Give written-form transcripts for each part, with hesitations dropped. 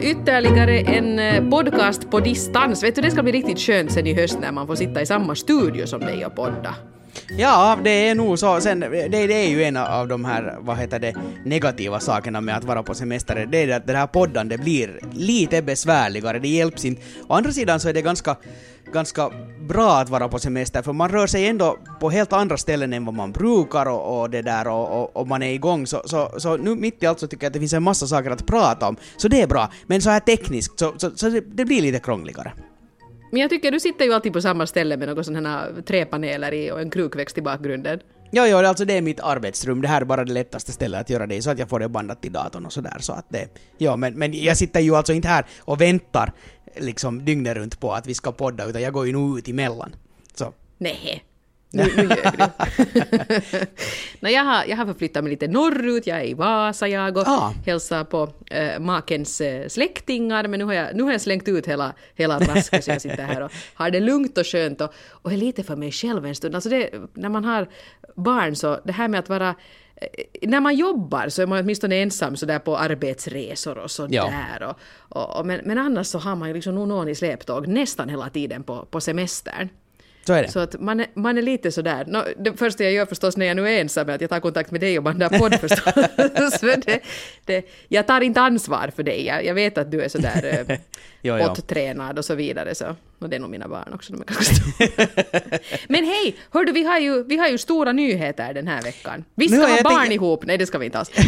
ytterligare en podcast på distans. Vet du, det ska bli riktigt skönt sen i höst när man får sitta i samma studio som dig och podda. Ja, det är nog så. Sen, det är ju en av de här, negativa sakerna med att vara på semester. Det är att det här poddan, det blir lite besvärligare. Det hjälps inte. Å andra sidan så är det ganska bra att vara på semester, för man rör sig ändå på helt andra ställen än vad man brukar och det där och man är igång. Så nu mitt i allt så tycker jag att det finns en massa saker att prata om. Så det är bra. Men så här tekniskt så det blir lite krångligare. Men jag tycker du sitter ju alltid på samma ställe med några sådana här träpaneler i och en krukväxt i bakgrunden. Ja, alltså det är mitt arbetsrum. Det här är bara det lättaste stället att göra det, så att jag får det bandat till datorn och sådär. Så att det, ja, men jag sitter ju alltså inte här och väntar liksom dygnet runt på att vi ska podda, utan jag går ju nog ut emellan. Så. Nej. Nu ljög du. Nej, jag har förflyttat mig lite norrut. Jag är i Vasa, jag och hälsar på makens släktingar. Men nu har jag slängt ut hela rasket, så jag sitter här och har det lugnt och skönt och är lite för mig själv en stund. Alltså när man har barn, så det här med att vara... När man jobbar så är man åtminstone ensam så där på arbetsresor och så där. Men annars så har man ju liksom någon i släptåg nästan hela tiden på semestern. Så är det. Så att man är lite sådär. Det första jag gör förstås när jag nu är ensam är att jag tar kontakt med dig och bandar podd förstås. Jag tar inte ansvar för dig. Jag vet att du är sådär poddtränad och så vidare. Så. Och det är nog mina barn också. De är ganska stora. Men hej, hördu, vi har ju stora nyheter den här veckan. Vi ska ha barn ihop. Nej, det ska vi inte alls.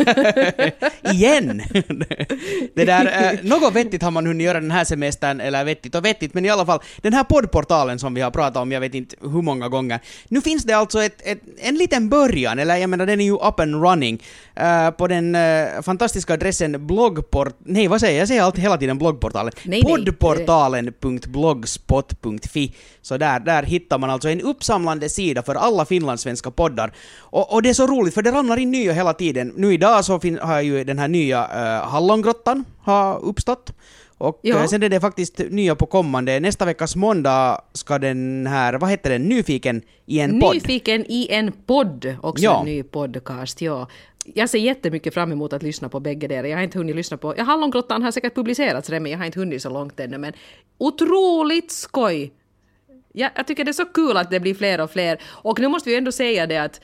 Igen! Det där, något vettigt har man hunnit göra den här semestern, eller vettigt, men i alla fall, den här poddportalen som vi har pratat om, jag vet inte hur många gånger. Nu finns det alltså en liten början, eller jag menar, den är ju up and running, på den fantastiska adressen jag säger alltid hela tiden bloggportalen. Poddportalen.blogspot.fi. Så där hittar man alltså en uppsamlande sida för alla finlandssvenska poddar. Och det är så roligt, för det ramlar in nya hela tiden. Nu idag så har ju den här nya Hallongrottan har uppstått. Och sen är det faktiskt nya på kommande. Nästa veckas måndag ska den här, vad heter den? Nyfiken i en podd. Nyfiken i en podd. Också en ny podcast, Jag ser jättemycket fram emot att lyssna på bägge där. Jag har inte hunnit lyssna på... Hallongrottan har säkert publicerats redan, men jag har inte hunnit så långt ännu. Men otroligt skoj! Jag tycker det är så kul att det blir fler och fler. Och nu måste vi ändå säga det att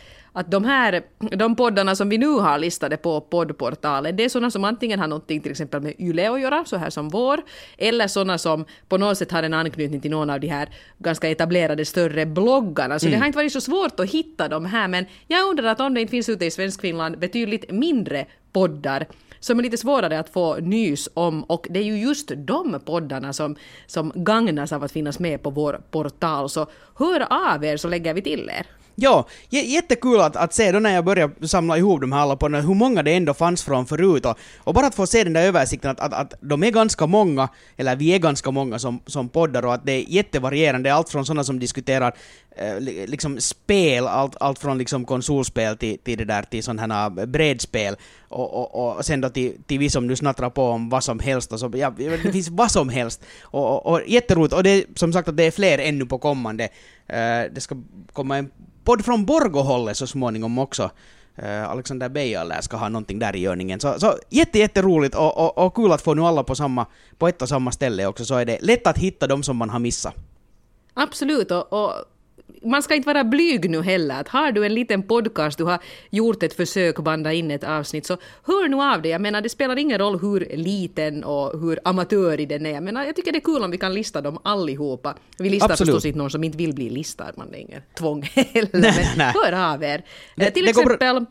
de poddarna som vi nu har listade på poddportalen, det är sådana som antingen har någonting till exempel med Yle att göra, så här som vår, eller sådana som på något sätt har en anknytning till någon av de här ganska etablerade större bloggarna. Så det har inte varit så svårt att hitta de här, men jag undrar att om det inte finns ute i Svenskfinland betydligt mindre poddar som är lite svårare att få nys om, och det är ju just de poddarna som gagnas av att finnas med på vår portal. Så hör av er så lägger vi till er. Ja, jättekul att se då när jag började samla ihop de här alla poddarna, hur många det ändå fanns från förut, och bara att få se den där översikten att de är ganska många, eller vi är ganska många som poddar, och att det är jättevarierande, allt från sådana som diskuterar liksom spel, allt från liksom konsolspel till det där, till sådana här brädspel, och sen då till vi som nu snattrar på om vad som helst, och så, det finns vad som helst, och jätteroligt, och det är som sagt att det är fler ännu på kommande. Det ska komma en podd från Borgåhållet så småningom också. Alexander Beijer ska ha någonting där i görningen. Så jätteroligt och kul att få nu alla på ett och samma ställe också, så är det lätt att hitta dem som man har missat. Absolut, och man ska inte vara blyg nu heller. Att har du en liten podcast, du har gjort ett försök att banda in ett avsnitt, så hör nu av det. Jag menar, det spelar ingen roll hur liten och hur amatörig den är. Jag menar, jag tycker det är kul om vi kan lista dem allihopa. Vi listar förstås inte någon som inte vill bli listad. Man är ingen tvång heller. Men hör av er. Till exempel...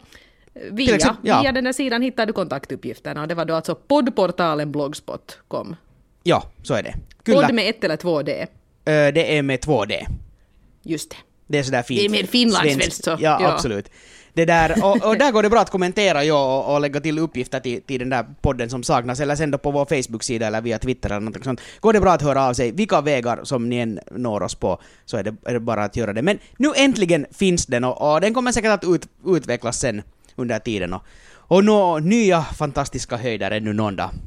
Via den här sidan hittar du kontaktuppgifterna, och det var då alltså poddportalen blogspot.com. Ja, så är det. Podd med 1 eller 2D? Det är med 2D. Just det. Det är sådär fint. Det är mer finlandssvenskt så. Ja, absolut. Det där, och där går det bra att kommentera och lägga till uppgifter till den där podden som saknas, eller sen då på vår Facebook-sida eller via Twitter eller något sånt. Går det bra att höra av sig, vilka vägar som ni än når oss på, så är det bara att göra det. Men nu äntligen finns den, och den kommer säkert att utvecklas sen under tiden, och nå nya fantastiska höjder ännu någon dag.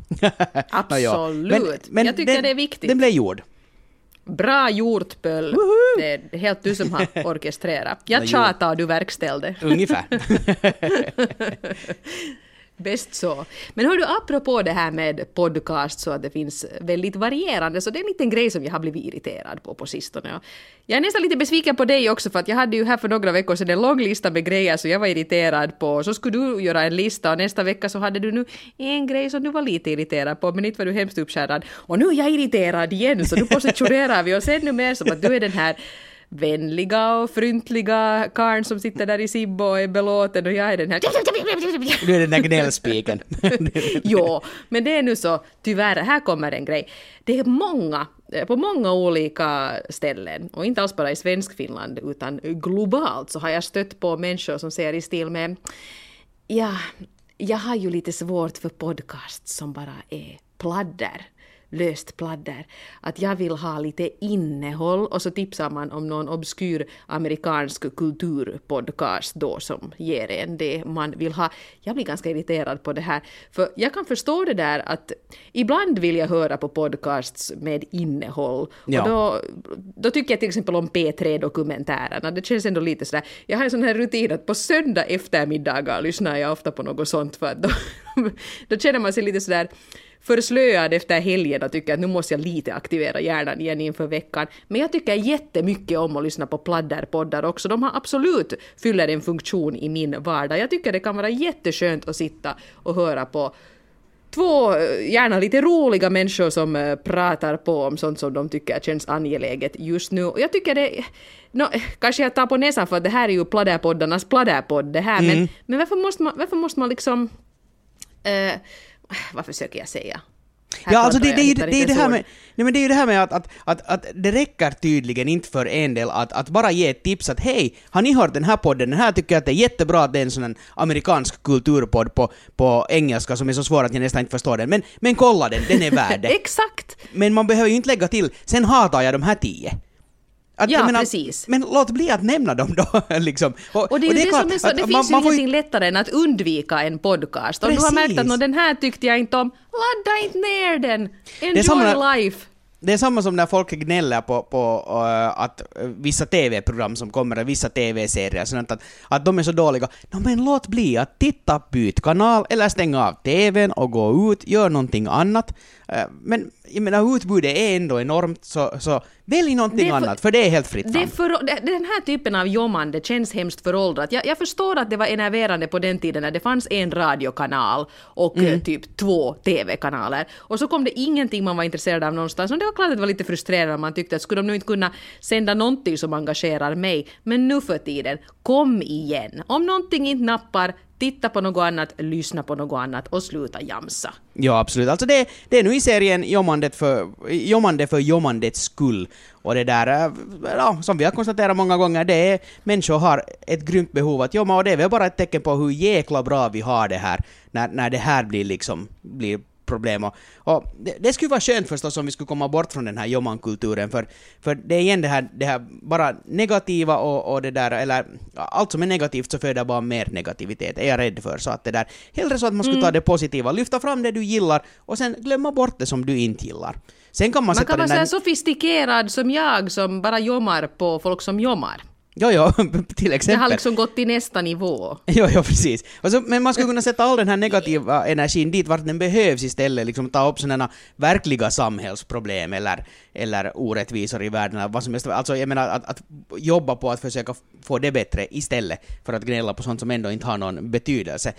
Absolut. Men jag tycker det är viktigt. Den blev gjord. Bra gjort, Pöll. Det är helt du som har orkestrerat. Jag tjatar och du verkställde. Ungefär. Bäst så. Men hör du, apropå det här med podcast så att det finns väldigt varierande, så det är en liten grej som jag har blivit irriterad på sistone. Jag är nästan lite besviken på dig också, för att jag hade ju här för några veckor sedan en lång lista med grejer så jag var irriterad på. Så skulle du göra en lista och nästa vecka så hade du nu en grej som du var lite irriterad på, men inte var du hemskt uppskärrad. Och nu är jag irriterad igen, så nu positionerar vi oss ännu mer som att du är den här vänliga och fryntliga karn som sitter där i Sibbo och är belåten och jag är den här... Du är den där gnällspiken. Jo, men det är nu så, tyvärr, här kommer en grej. Det är många, på många olika ställen, och inte alls bara i svensk Finland utan globalt, så har jag stött på människor som säger i stil med ja, jag har ju lite svårt för podcast som bara är pladder. Löst pladder, att jag vill ha lite innehåll, och så tipsar man om någon obskyr amerikansk kulturpodcast då som ger en det man vill ha. Jag blir ganska irriterad på det här, för jag kan förstå det där att ibland vill jag höra på podcasts med innehåll, och då tycker jag till exempel om P3-dokumentärerna, det känns ändå lite sådär, jag har en sån här rutin att på söndag eftermiddagar lyssnar jag ofta på något sånt, för att då känner man sig lite sådär förslöad efter helgen och tycker att nu måste jag lite aktivera hjärnan igen inför veckan. Men jag tycker jättemycket om att lyssna på pladderpoddar också. De har absolut fyller en funktion i min vardag. Jag tycker det kan vara jätteskönt att sitta och höra på två gärna lite roliga människor som pratar på om sånt som de tycker känns angeläget just nu. Och jag tycker det... kanske jag tar på näsan för att det här är ju pladderpoddarnas pladderpodd det här. Men varför måste man liksom... vad försöker jag säga? Ja, alltså det är det här med, nej, men det är ju det här med att det räcker tydligen inte för en del att bara ge ett tips att hej, har ni hört den här podden? Den här tycker jag att det är jättebra, att det är en sån en amerikansk kulturpodd på engelska som är så svår att jag nästan inte förstår den. Men kolla den är värd det. Exakt! Men man behöver ju inte lägga till, sen hatar jag de här 10. Precis. Men låt bli att nämna dem då. Liksom. Och det är ju det som är så, det finns ju ingenting lättare än att undvika en podcast. Om du har märkt att den här tyckte jag inte om, ladda inte ner den. Enjoy life. Det är samma som när folk gnäller på att vissa tv-program som kommer, vissa tv-serier, sånt att de är så dåliga. Men låt bli att titta, byt kanal eller stänga av tvn och gå ut, gör någonting annat. Men jag menar, utbudet är ändå enormt, så välj någonting annat, för det är helt fritt fram. Den här typen av jommande känns hemskt föråldrat. Jag förstår att det var enerverande på den tiden när det fanns en radiokanal och typ 2 tv-kanaler. Och så kom det ingenting man var intresserad av någonstans. Och det var klart att det var lite frustrerande. Man tyckte att skulle de nu inte kunna sända någonting som engagerar mig. Men nu för tiden, kom igen. Om någonting inte nappar, titta på något annat, lyssna på något annat och sluta jamsa. Ja, absolut. Alltså det är nu i serien jommande för jommandets skull. Och det där, som vi har konstaterat många gånger, det är människor har ett grymt behov att jomma, och det är väl bara ett tecken på hur jäkla bra vi har det här när det här blir problem. Och det skulle vara skönt förstås om vi skulle komma bort från den här jommankulturen, för det är igen det här bara negativa och det där, eller allt som är negativt så föder bara mer negativitet, är jag rädd för. Så att det där, hellre så att man skulle ta det positiva, lyfta fram det du gillar och sen glömma bort det som du inte gillar. Sen kan man kan vara så sofistikerad som jag som bara jommar på folk som jommar. Ja, till exempel. Det har liksom gått till nästa nivå. Ja, precis. Men man skulle kunna sätta all den här negativa energin dit vart den behövs istället. Liksom ta upp sådana verkliga samhällsproblem eller orättvisor i världen. Eller vad som helst. Alltså jag menar att jobba på att försöka få det bättre istället för att gnälla på sånt som ändå inte har någon betydelse.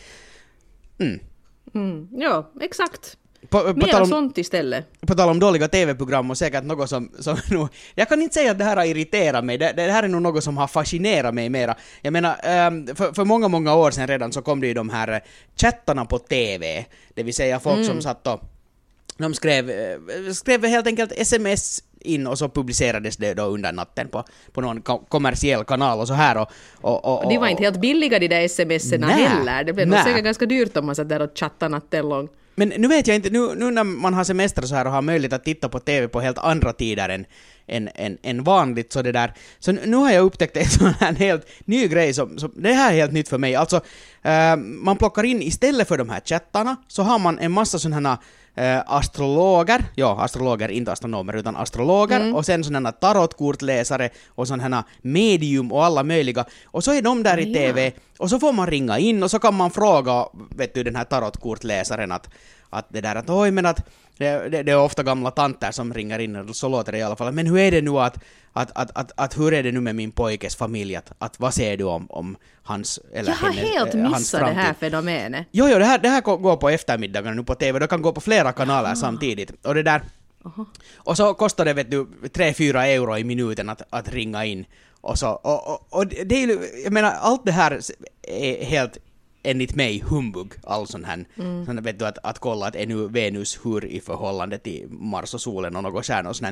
Ja, exakt. Mer sånt istället. På tal om dåliga tv-program och säkert något som nu, jag kan inte säga att det här har irriterat mig. Det här är nog något som har fascinerat mig mera. Jag menar, för många år sedan redan så kom det ju de här chattarna på tv. Det vill säga folk som satt och de skrev helt enkelt sms in och så publicerades det då under natten på någon kommersiell kanal och så här. Och det var inte helt billiga de där sms'erna heller. Det blev nog säkert ganska dyrt om man satt där och chattade natten lång. Men nu vet jag inte, nu när man har semester så här och har möjlighet att titta på tv på helt andra tider än vanligt så det där. Så nu har jag upptäckt en sån här helt ny grej som det här är helt nytt för mig. Alltså man plockar in istället för de här chattarna så har man en massa sådana astrologer, inte astronomer utan astrologer, och sen sådana tarotkortläsare och sådana medium och alla möjliga, och så är de där i TV, och så får man ringa in och så kan man fråga, vet du, den här tarotkortläsaren att det där att oj, men att det är ofta gamla tanter som ringer in, så låter det i alla fall, men hur är det nu att hur är det nu med min pojkes familj, att vad säger du om hans eller hennes framtid? Jag har helt missat det här fenomenet. Jo, det här går på eftermiddagen nu på TV, det kan gå på flera kanaler samtidigt, och det där och så kostar det, vet du, 3-4 euro i minuten att ringa in, och så och det är ju, jag menar, allt det här är helt enligt mig humbug, all sån här sån, vet du, att kolla att är nu Venus hur i förhållande till Mars och solen och något stjärnor och sån här.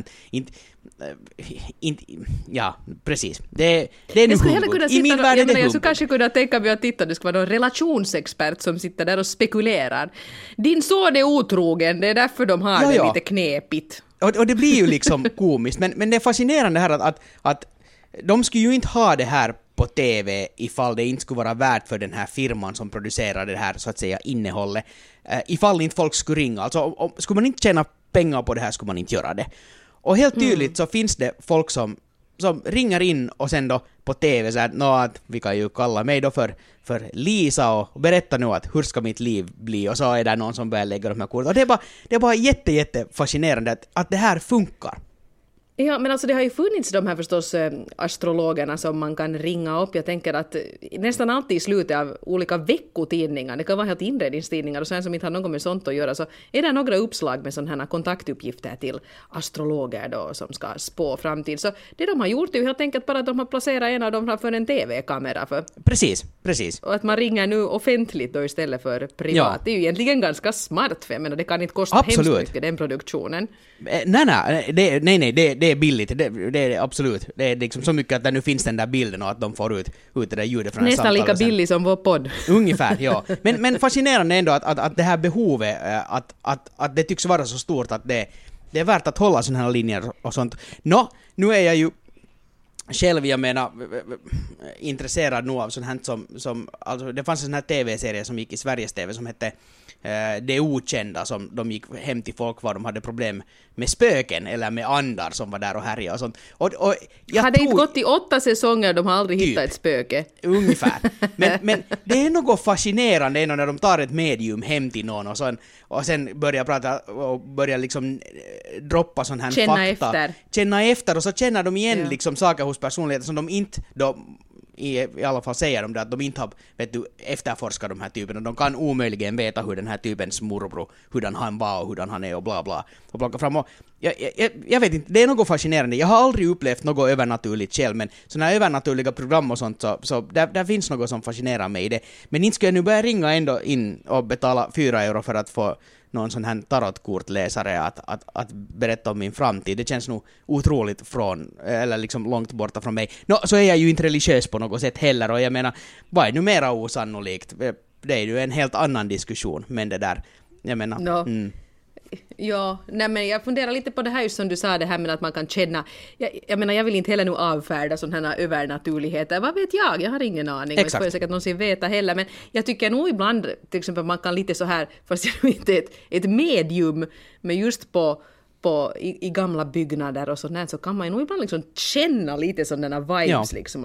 Ja, precis. Det är nu humbug. I min värld är det humbug. Jag skulle kanske kunna tänka mig att titta, det ska vara någon relationsexpert som sitter där och spekulerar. Din son är otrogen, det är därför de har det lite knepigt. Och det blir ju liksom komiskt, men det är fascinerande här att de skulle ju inte ha det här på TV ifall det inte skulle vara värt för den här firman som producerar det här, så att säga, innehållet. Ifall inte folk skulle ringa. Alltså, skulle man inte tjäna pengar på det här skulle man inte göra det. Och helt tydligt så finns det folk som ringer in och sen då på TV så att vi kan ju kalla mig då för Lisa och berätta nu att hur ska mitt liv bli, och så är det någon som börjar lägga de här korten. Och det är bara jätte fascinerande att det här funkar. Ja, men alltså det har ju funnits de här förstås astrologerna som man kan ringa upp. Jag tänker att nästan alltid i slutet av olika veckotidningar, det kan vara helt inredningstidningar och sen som inte har något med sånt att göra, så är det några uppslag med sådana här kontaktuppgifter till astrologer då som ska spå framtid. Så det de har gjort är ju helt enkelt bara att de har placerat en av dem framför en TV-kamera. Precis. Och att man ringer nu offentligt då istället för privat. Ja. Det är ju egentligen ganska smart, för jag menar, det kan inte kosta hemskt mycket den produktionen. Nej, det är billigt, det är absolut. Det är liksom så mycket att det nu finns den där bilden och att de får ut det där ljudet från nästan lika billig som vår podd. Ungefär, ja. Men fascinerande ändå att det här behovet, att det tycks vara så stort att det är värt att hålla sådana här linjer och sånt. Nu är jag ju själv, jag menar, intresserad nog av sånt här som alltså det fanns en sån här TV-serie som gick i Sveriges TV som hette Det Okända, som de gick hem till folk var de hade problem med spöken eller med andar som var där och härjade och sånt. Och jag hade inte gått i 8 säsonger, de har aldrig hittat ett spöke. Ungefär. Men det är något fascinerande när de tar ett medium hem till någon och sen börjar prata och börjar liksom droppa sån här fakta. Känna efter och så känner de igen liksom saker hos personligheter som de inte då i alla fall säger de det att de inte har, vet du, efterforskat de här typerna. De kan omöjligen veta hur den här typens morbror, hurdan han var och hurdan han är och bla bla. Och plocka fram och jag vet inte, det är något fascinerande. Jag har aldrig upplevt något övernaturligt själv, men såna här övernaturliga program och sånt, så där finns något som fascinerar mig i det. Men inte ska jag nu börja ringa ändå in och betala 4 euro för att få någon sån här tarotkortläsare att berätta om min framtid. Det känns nog otroligt eller liksom långt borta från mig. Så är jag ju inte religiös på något sätt heller, och jag menar, vad är nu mera osannolikt? Det är ju en helt annan diskussion, men det där, jag menar... Ja, nej, men jag funderar lite på det här just som du sa, det här med att man kan känna, jag menar, jag vill inte heller nu avfärda sådana här övernaturligheter, vad vet jag har ingen aning, och jag får säkert någonsin veta heller, men jag tycker nog ibland, till exempel man kan lite så här, fast jag inte ett medium, men just i gamla byggnader och sånt, så kan man ju nog ibland liksom känna lite sådana vibes, liksom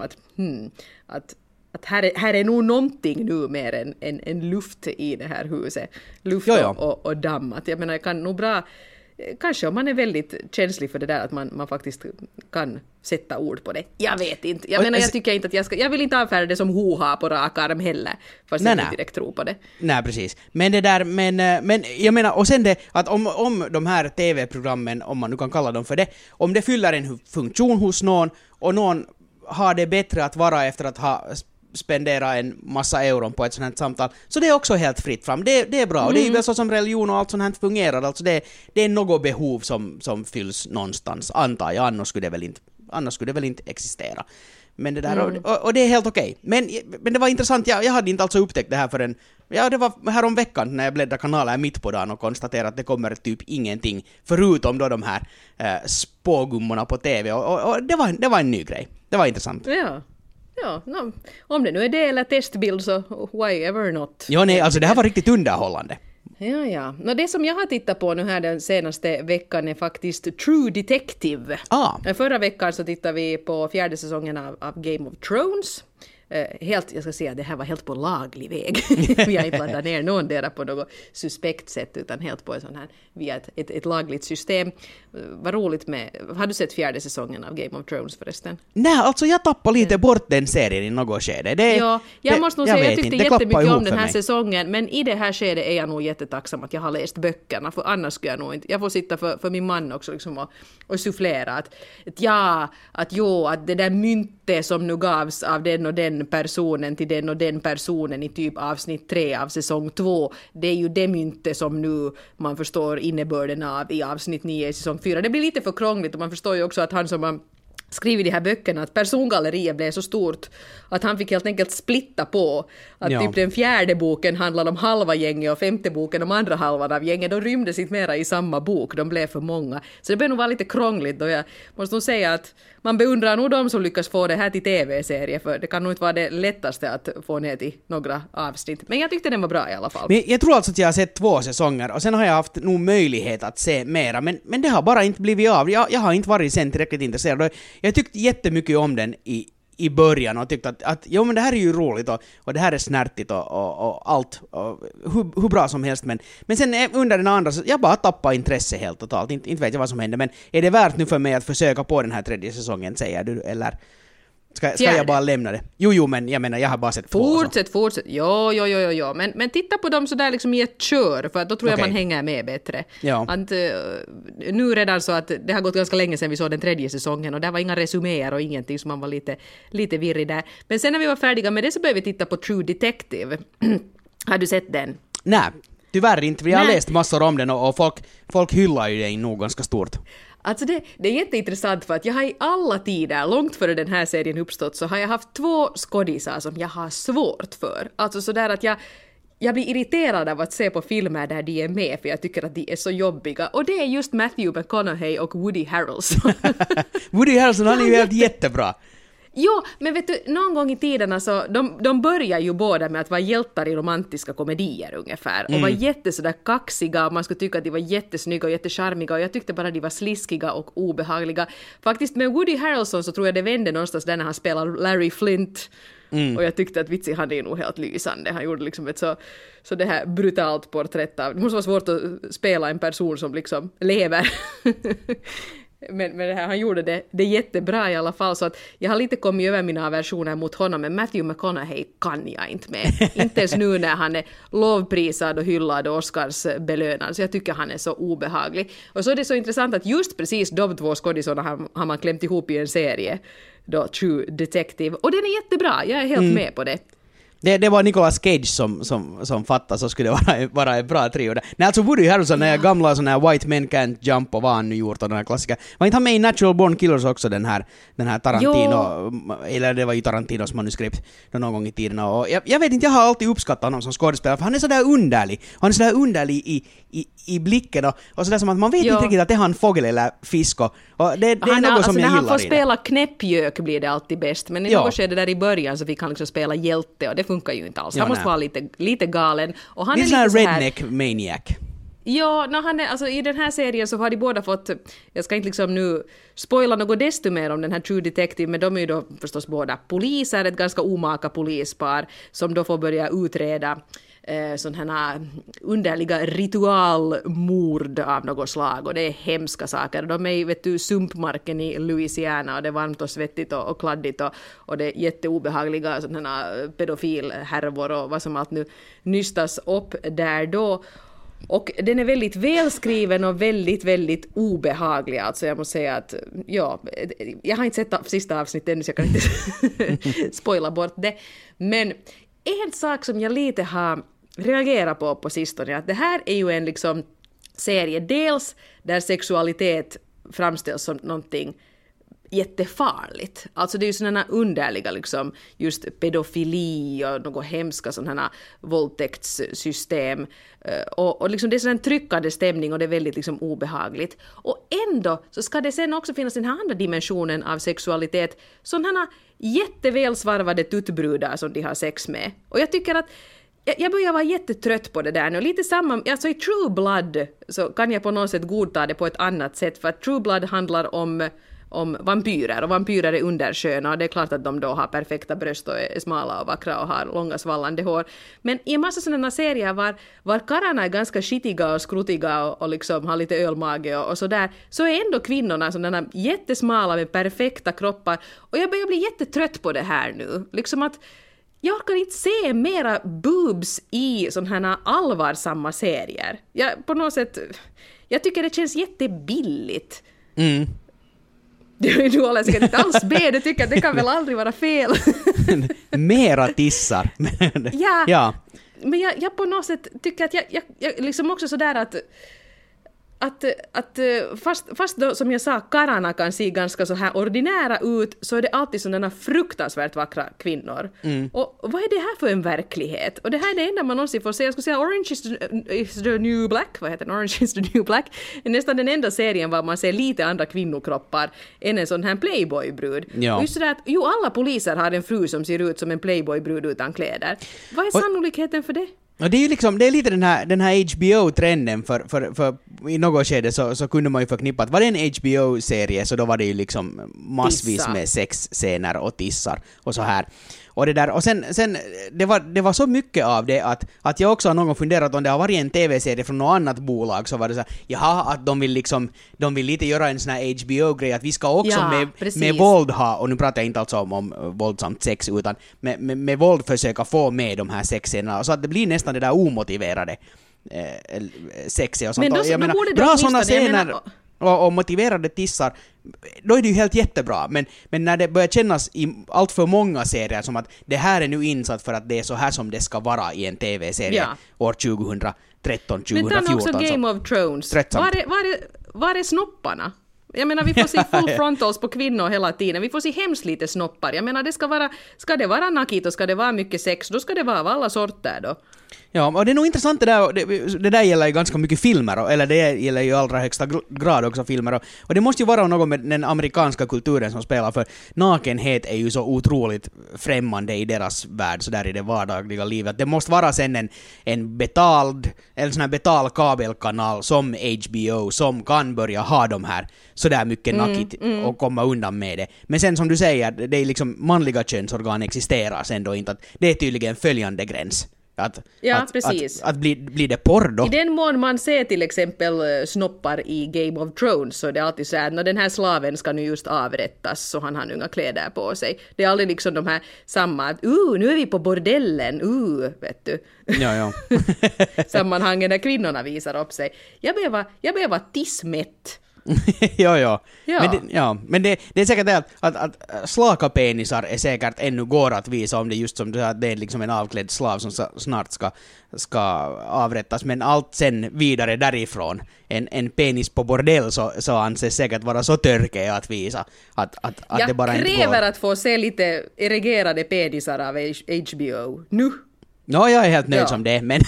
att här är nog någonting nu mer än luft i det här huset. Luft och damm. Att jag menar, jag kan nog bra... Kanske om man är väldigt känslig för det där, att man faktiskt kan sätta ord på det. Jag vet inte. Jag tycker inte att jag vill inte avfärda det som hoha på rak arm heller. Fast jag inte direkt tror på det. Nej, precis. Men det där, men jag menar, och sen det, att om de här TV-programmen, om man nu kan kalla dem för det, om det fyller en funktion hos någon, och någon har det bättre att vara efter att ha spendera en massa euron på ett sånt här samtal, så det är också helt fritt fram. Det är bra, och det är ju väl så som religion och allt sånt här fungerar, alltså det är något behov som fylls någonstans, antar jag, annars skulle det väl inte existera. Men det där, och det är helt okej. Men det var intressant, jag hade inte alltså upptäckt det här förrän, det var här om veckan när jag bläddrade kanaler mitt på dagen och konstaterade att det kommer typ ingenting, förutom då de här spågummorna på TV, och det var en ny grej. Det var intressant. Ja, om det nu är det eller testbild, så why ever not. Ja, nej, alltså det här var riktigt underhållande. Ja. Det som jag har tittat på nu här den senaste veckan är faktiskt True Detective. Förra veckan så tittade vi på 4:e säsongen av Game of Thrones. Jag ska säga att det här var helt på laglig väg. Vi har inte laddat ner någon där på något suspekt sätt, utan helt på en sån här, via ett lagligt system. Vad roligt med... Har du sett 4:e säsongen av Game of Thrones förresten? Nej, alltså jag tappade lite bort den serien i något skede. Jag måste nog säga, jag tyckte jättemycket om den här säsongen, men i det här skedet är jag nog jättetacksam att jag har läst böckerna, för annars skulle jag nog inte... Jag får sitta för min man också liksom och sufflera att det där myntet som nu gavs av den och den personen till den och den personen i typ avsnitt 3 av säsong 2, det är ju det myntet som nu man förstår innebörden av i avsnitt 9 i säsong 4. Det blir lite för krångligt, och man förstår ju också att han som har skrivit de här böckerna, att persongalleriet blev så stort att han fick helt enkelt splitta på att typ den 4:e boken handlar om halva gänget och 5:e boken om andra halvan av gänget. De rymdes inte mera i samma bok, de blev för många. Så det blev nog vara lite krångligt, och jag måste nog säga att man beundrar nog de som lyckas få det här till tv-serie, för det kan nog inte vara det lättaste att få ner till några avsnitt. Men jag tyckte den var bra i alla fall. Men jag tror alltså att jag har sett 2 säsonger, och sen har jag haft nog möjlighet att se mera, men det har bara inte blivit av. Jag har inte varit sen tillräckligt intresserad. Jag tyckte jättemycket om den i början och tyckte att jo, men det här är ju roligt och det här är snärtigt och allt och hur bra som helst, men sen under den andra så jag bara tappade intresse helt totalt. Inte vet jag vad som hände, men är det värt nu för mig att försöka på den här 3:e säsongen, säger du, eller ska jag bara lämna det? Jo, men jag menar, jag har bara sett 2. Fortsätt. Jo. Men titta på dem så där liksom i ett kör, för att då tror jag man hänger med bättre. Ja. Att, nu redan så att det har gått ganska länge sedan vi såg den 3:e säsongen, och där var inga resuméer och ingenting, så man var lite virrig där. Men sen när vi var färdiga med det så började vi titta på True Detective. Har du sett den? Nej, tyvärr inte. Vi har läst massor om den och folk hyllar ju den nog ganska stort. Alltså det är jätteintressant, för att jag har i alla tider, långt före den här serien uppstått, så har jag haft 2 skådisar som jag har svårt för. Alltså sådär att jag blir irriterad av att se på filmer där de är med, för jag tycker att de är så jobbiga. Och det är just Matthew McConaughey och Woody Harrelson. Woody Harrelson, han är ju helt jättebra. Jo, men vet du, någon gång i tiden alltså, de börjar ju båda med att vara hjältar i romantiska komedier ungefär. Och var sådär kaxiga, och man skulle tycka att de var jättesnygga och jättecharmiga, och jag tyckte bara att de var sliskiga och obehagliga. Faktiskt med Woody Harrelson så tror jag det vände någonstans där när han spelar Larry Flint. Och jag tyckte att vitsi, han är nog helt lysande. Han gjorde liksom ett så det här brutalt porträtt av... Det måste vara svårt att spela en person som liksom lever. Men det här, han gjorde det jättebra i alla fall, så att jag har lite kommit över mina aversioner mot honom, men Matthew McConaughey kan jag inte med. Inte ens nu när han är lovprisad och hyllad och Oscars belönad, så jag tycker han är så obehaglig. Och så är det så intressant att just precis de 2 skådisarna har man klämt ihop i en serie, då True Detective, och den är jättebra, jag är helt med på det. Det var Nicolas Cage som fattade, så skulle det vara en bra trio där. Nej, alltså Woody Harrelson, den här gamla sån här White Men Can't Jump och vad han nu gjort, och den här klassiska. Var inte han med i Natural Born Killers också, den här Tarantino, eller det var ju Tarantinos manuskript någon gång i tiden. Och jag vet inte, jag har alltid uppskattat honom som skådespelare, för han är så där underlig. Han är så där underlig i blicken och sådär som att man vet inte riktigt att det är han fågel eller fisk, och det är något som jag gillar i det. När han får spela knäppjök blir det alltid bäst, men i något skede där i början så fick han liksom spela hjälte, och det funkar ju inte alls. Han måste vara lite galen. Och han är lite så här redneck maniac. Ja, han är, alltså, i den här serien så har de båda fått, jag ska inte liksom nu spoila något desto mer om den här True Detective, men de är ju då förstås båda poliser, ett ganska omaka polispar som då får börja utreda sådana här underliga ritualmord av något slag, och det är hemska saker. De är i, vet du, sumpmarken i Louisiana, och det är varmt och svettigt och kladdigt, och det är jätteobehagliga sådana här pedofilhärvor och vad som allt nu nystas upp där då. Och den är väldigt välskriven och väldigt, väldigt obehaglig. Alltså jag måste säga att, jag har inte sett sista avsnittet ännu, så jag kan inte spoila bort det. Men en sak som jag lite har reagerat på sistone, att det här är ju en liksom serie dels där sexualitet framställs som någonting jättefarligt. Alltså det är ju sådana underliga liksom just pedofili och något hemska sådana våldtäktssystem, och liksom det är sån tryckande stämning, och det är väldigt liksom obehagligt. Och ändå så ska det sen också finnas den här andra dimensionen av sexualitet, sådana jättevälsvarvade tuttbrudar som de har sex med. Och jag tycker att jag börjar vara jättetrött på det där nu. Lite samma, alltså i True Blood så kan jag på något sätt godta det på ett annat sätt, för att True Blood handlar om vampyrer, och vampyrer är undersköna, och det är klart att de då har perfekta bröst och är smala och vackra och har långa svallande hår. Men i en massa sådana serier var karlarna är ganska skitiga och skrutiga och liksom har lite ölmage och sådär, så är ändå kvinnorna sådana jättesmala med perfekta kroppar, och jag börjar bli jättetrött på det här nu. Liksom att jag kan inte se mera boobs i sådana här allvarsamma serier. På något sätt, jag tycker det känns jättebilligt. Mm. Du håller säkert inte alls med, du tycker att det kan väl aldrig vara fel. Mera tissar. Ja. Men jag på något sätt tycker att jag liksom också sådär att fast då, som jag sa, karlarna kan se ganska så här ordinära ut, så är det alltid sådana fruktansvärt vackra kvinnor. Och vad är det här för en verklighet? Och det här är det enda man någonsin får se. Jag skulle säga Orange is the New Black. Vad heter den? Orange is the New Black. Det är nästan den enda serien var man ser lite andra kvinnokroppar än en sån här playboy-brud. Ja. Och just det att alla poliser har en fru som ser ut som en playboy-brud utan kläder. Vad är sannolikheten för det? Och det är ju liksom, det är lite den här HBO-trenden, för i något skede så kunde man ju förknippa att var det en HBO-serie så då var det ju liksom massvis med sexscener och tissar och så här. Och det där, och sen det var så mycket av det att jag också har någon gång funderat om det har varit en tv-serie från något annat bolag, så var det så här, jaha, att de vill lite göra en sån här HBO-grej att vi ska också med våld ha, och nu pratar jag inte alltså om våldsamt sex, utan med våld försöka få med de här sexscenerna, så att det blir nästan det där omotiverade sexiga och sånt. Men då, jag menar, bra sådana scener och motiverade tissar, då är det ju helt jättebra, men när det börjar kännas i allt för många serier som att det här är nu insatt för att det är så här som det ska vara i en tv-serie år 2013, 2014. Men ta också Game of Thrones. Var är snopparna? Jag menar, vi får se full frontals på kvinnor hela tiden. Vi får se hemskt lite snoppar. Jag menar, ska det vara nakit och ska det vara mycket sex, då ska det vara av alla sorter då. Ja, och det är nog intressant det där gäller ju ganska mycket filmer, eller det gäller ju i allra högsta grad också filmer, och det måste ju vara något med den amerikanska kulturen som spelar, för nakenhet är ju så otroligt främmande i deras värld, så där i det vardagliga livet. Det måste vara sen en betald, eller sån här betald kabelkanal som HBO som kan börja ha de här så där mycket nakit och komma undan med det. Men sen som du säger, det är liksom manliga könsorgan existerar sen då inte, att det är tydligen följande gräns. Att blir det porr då? I den mån man ser till exempel snoppar i Game of Thrones, så är det alltid så här att när den här slaven ska nu just avrättas så han har inga kläder på sig. Det är aldrig liksom de här samma att nu är vi på bordellen, vet du. Ja. Sammanhangen när kvinnorna visar upp sig. Jag blev vara tissmätt. Ja. Men det är säkert det att slaka penisar är säkert ännu går att visa, om det just som du sa, att det är liksom en avklädd slav som snart ska avrättas, men allt sen vidare därifrån, en penis på bordell så anses säkert vara så törke att visa att det bara inte går. Jag kräver att få se lite erigerade penisar av HBO nu. Ja, jag är helt nöjd som det, men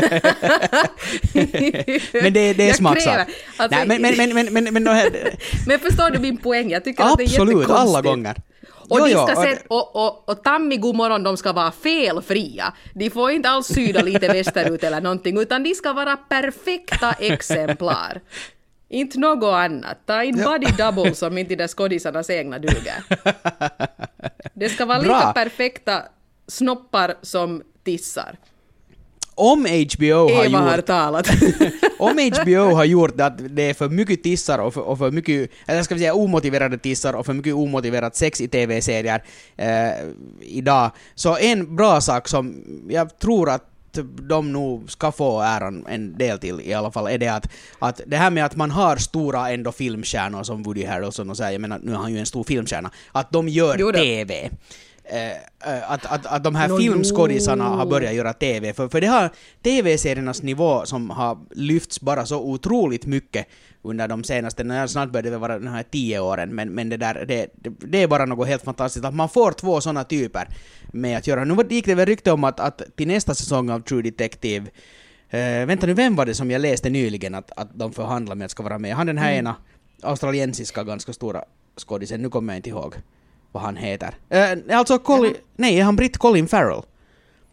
men det är smaksak. Alltså, men förstår du min poäng? Jag tycker att det är jättekonstigt. Absolut, alla gånger. Och de ska se, och Tammy godmorgon, de ska vara felfria. De får inte alls syda lite västerut eller någonting, utan de ska vara perfekta exemplar. Inte något annat. Ta in body double som inte de skådisarnas egna duger. Det ska vara lika perfekta snoppar som tissar. Om HBO har talat. Om HBO har gjort att det är för mycket tissar och för mycket, eller ska vi säga omotiverade tissar och för mycket omotiverat sex i tv-serier idag, så en bra sak som jag tror att de nog ska få äran en del till i alla fall, är det att det här med att man har stora ändå filmstjärnor som Woody Harrelson och så här, jag menar nu har han ju en stor filmstjärna, att de gör TV. Att de här filmskådisarna har börjat göra TV, för det har tv-seriernas nivå som har lyfts bara så otroligt mycket under de senaste, snart börjar det vara de här 10 åren, men det är bara något helt fantastiskt att man får två sådana typer med att göra. Nu gick det väl rykte om att till nästa säsong av True Detective, vänta nu, vem var det som jag läste nyligen att de förhandlar med att ska vara med? Han den här ena australiensiska ganska stora skådisen, nu kommer jag inte ihåg vad han heter. Alltså Colin, nej, är han britt Colin Farrell?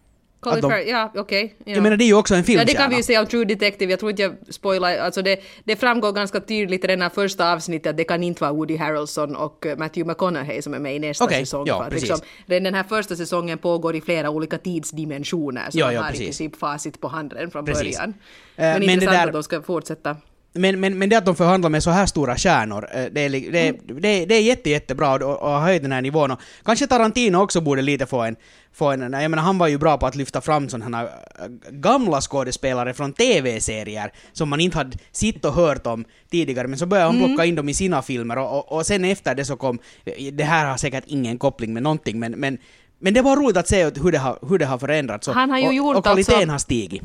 Ja, okej. Ja. Jag menar, det är ju också en filmstjärna. Ja, det kan vi ju säga om True Detective. Jag tror inte jag spoilar. Alltså det framgår ganska tydligt i den här första avsnittet att det kan inte vara Woody Harrelson och Matthew McConaughey som är med i nästa säsong. Ja, liksom, den här första säsongen pågår i flera olika tidsdimensioner, så man har i princip facit på handen från början. Men intressant att de ska fortsätta. Men det att de förhandlar med så här stora stjärnor, det är jättebra och har höjt den här nivån. Och kanske Tarantino också borde lite få en jag menar, han var ju bra på att lyfta fram sådana här gamla skådespelare från tv-serier som man inte hade sitt och hört om tidigare, men så började han plocka in dem i sina filmer och sen efter det så kom, det här har säkert ingen koppling med någonting, men det var roligt att se hur det har förändrats och, han har ju gjort och kvaliteten har stigit.